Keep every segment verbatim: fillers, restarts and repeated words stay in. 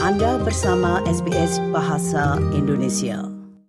Anda bersama S B S Bahasa Indonesia.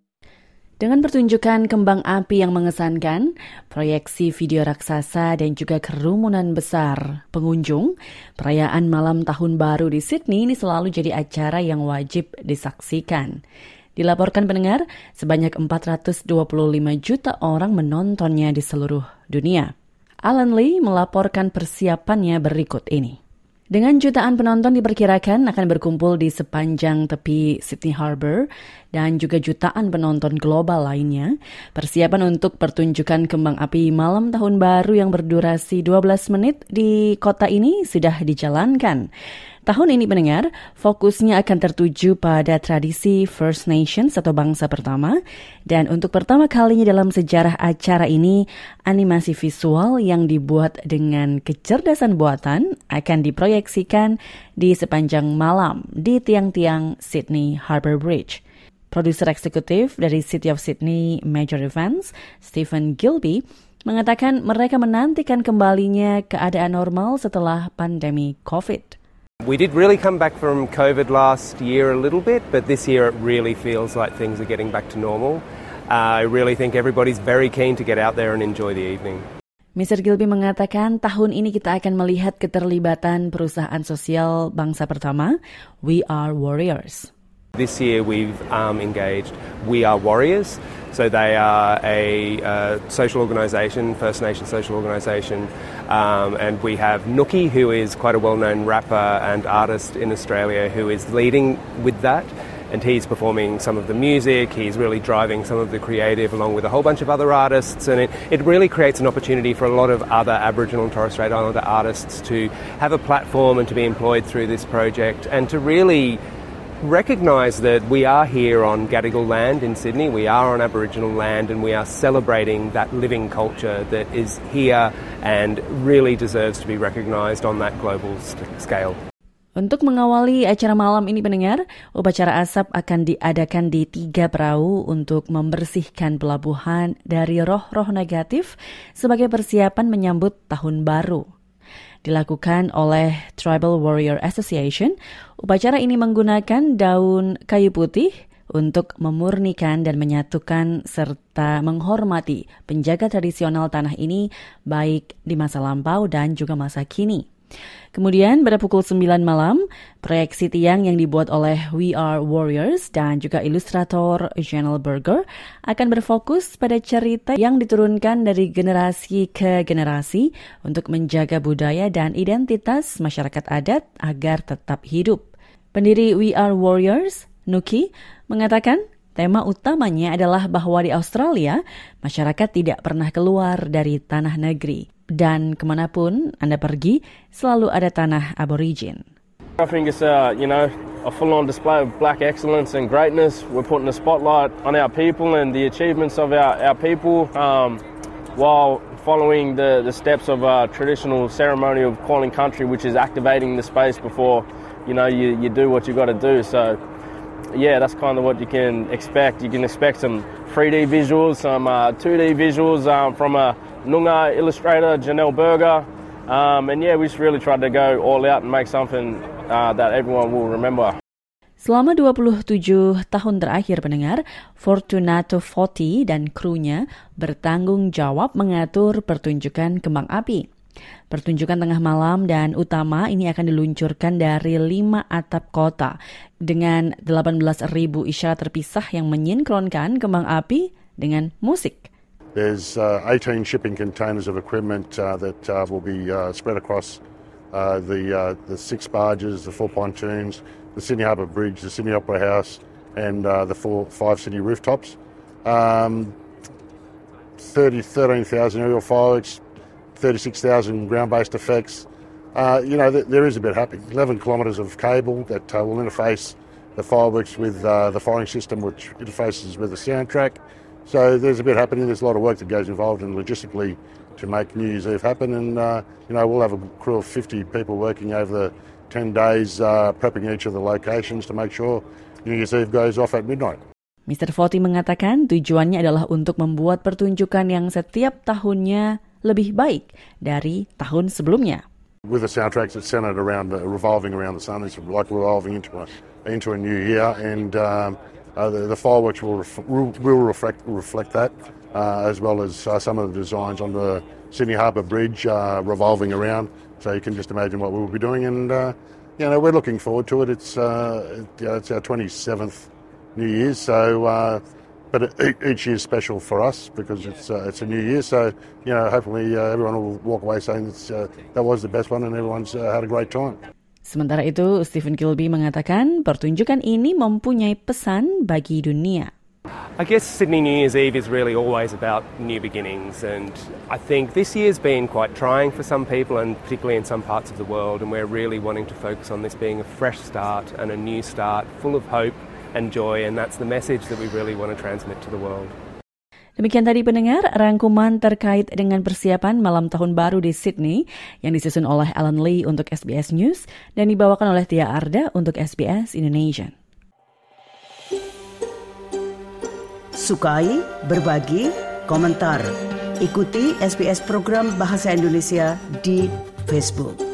Dengan pertunjukan kembang api yang mengesankan, proyeksi video raksasa dan juga kerumunan besar pengunjung, perayaan malam tahun baru di Sydney ini selalu jadi acara yang wajib disaksikan. Dilaporkan pendengar, sebanyak empat ratus dua puluh lima juta orang menontonnya di seluruh dunia. Alan Lee melaporkan persiapannya berikut ini. Dengan jutaan penonton diperkirakan akan berkumpul di sepanjang tepi Sydney Harbour dan juga jutaan penonton global lainnya, persiapan untuk pertunjukan kembang api malam tahun baru yang berdurasi dua belas menit di kota ini sudah dijalankan. Tahun ini pendengar, fokusnya akan tertuju pada tradisi First Nations atau bangsa pertama, dan untuk pertama kalinya dalam sejarah acara ini, animasi visual yang dibuat dengan kecerdasan buatan akan diproyeksikan di sepanjang malam di tiang-tiang Sydney Harbour Bridge. Produser eksekutif dari City of Sydney Major Events, Stephen Gilby, mengatakan mereka menantikan kembalinya keadaan normal setelah pandemi COVID. We did really come back from COVID last year a little bit, but this year it really feels like things are getting back to normal. Uh, I really think everybody's very keen to get out there and enjoy the evening. mister Gilby mengatakan tahun ini kita akan melihat keterlibatan perusahaan sosial bangsa pertama, We Are Warriors. This year we've um, engaged We Are Warriors. So they are a uh, social organisation, First Nation social organisation, um, and we have Nookie, who is quite a well-known rapper and artist in Australia, who is leading with that, and he's performing some of the music, he's really driving some of the creative along with a whole bunch of other artists, and it, it really creates an opportunity for a lot of other Aboriginal and Torres Strait Islander artists to have a platform and to be employed through this project, and to really recognise that we are here on Gadigal land in Sydney, we are on Aboriginal land, and we are celebrating that living culture that is here and really deserves to be recognised on that global scale. Untuk mengawali acara malam ini pendengar, upacara asap akan diadakan di tiga perahu untuk membersihkan pelabuhan dari roh-roh negatif sebagai persiapan menyambut tahun baru. Dilakukan oleh Tribal Warrior Association, upacara ini menggunakan daun kayu putih untuk memurnikan dan menyatukan serta menghormati penjaga tradisional tanah ini baik di masa lampau dan juga masa kini. Kemudian pada pukul sembilan malam, proyeksi tiang yang dibuat oleh We Are Warriors dan juga ilustrator Janelle Berger akan berfokus pada cerita yang diturunkan dari generasi ke generasi untuk menjaga budaya dan identitas masyarakat adat agar tetap hidup. Pendiri We Are Warriors, Nookie, mengatakan tema utamanya adalah bahwa di Australia, masyarakat tidak pernah keluar dari tanah negeri. Dan kemanapun Anda pergi, selalu ada tanah aborigin. I think it's a, you know, a full-on display of black excellence and greatness. We're putting a spotlight on our people and the achievements of our, our people um, while following the, the steps of a traditional ceremony of calling country, which is activating the space before, you know, you, you do what you got to do. So, yeah, that's kind of what you can expect. You can expect some three D visuals, some uh, two D visuals um, from a Noongar illustrator, Janelle Berger. Um, and yeah, we just really tried to go all out and make something uh, that everyone will remember. Selama dua puluh tujuh tahun terakhir pendengar, Fortunato Foti dan krunya bertanggung jawab mengatur pertunjukan kembang api. Pertunjukan tengah malam dan utama ini akan diluncurkan dari lima atap kota dengan delapan belas ribu isyarat terpisah yang menyinkronkan kembang api dengan musik. There's uh, eighteen shipping containers of equipment uh, that uh, will be uh, spread across uh, the uh, the six barges, the four pontoons, the Sydney Harbour Bridge, the Sydney Opera House, and uh, the four, five city rooftops. Um, thirty, thirteen thousand aerial fireworks, thirty-six thousand ground-based effects. Uh, you know, th- there is a bit happening. eleven kilometres of cable that uh, will interface the fireworks with uh, the firing system, which interfaces with the soundtrack. So there's a bit happening. There's a lot of work that goes involved in logistically to make New Year's Eve happen. And, uh, you know, we'll have a crew of fifty people working over the ten days, uh, prepping each of the locations to make sure New Year's Eve goes off at midnight. mister Foti mengatakan tujuannya adalah untuk membuat pertunjukan yang setiap tahunnya lebih baik dari tahun sebelumnya. With the soundtracks that's centered around, uh, revolving around the sun, it's like revolving into a into a new year, and um, uh, the, the fireworks will ref- will reflect reflect that, uh, as well as uh, some of the designs on the Sydney Harbour Bridge uh, revolving around. So you can just imagine what we'll be doing, and uh, you know we're looking forward to it. It's uh, you know, it's our twenty-seventh New Year's, so. Uh, But each year is special for us because it's uh, it's a new year. So you know, hopefully uh, everyone will walk away saying it's, uh, that was the best one and everyone's uh, had a great time. Sementara itu, Stephen Kilby mengatakan pertunjukan ini mempunyai pesan bagi dunia. I guess Sydney New Year's Eve is really always about new beginnings, and I think this year's been quite trying for some people, and particularly in some parts of the world, and we're really wanting to focus on this being a fresh start and a new start, full of hope and joy, and that's the message that we really want to transmit to the world. Demikian tadi pendengar, rangkuman terkait dengan persiapan malam tahun baru di Sydney yang disusun oleh Alan Lee untuk S B S News dan dibawakan oleh Tia Arda untuk S B S Indonesia. Sukai, berbagi, komentar. Ikuti S B S program Bahasa Indonesia di Facebook.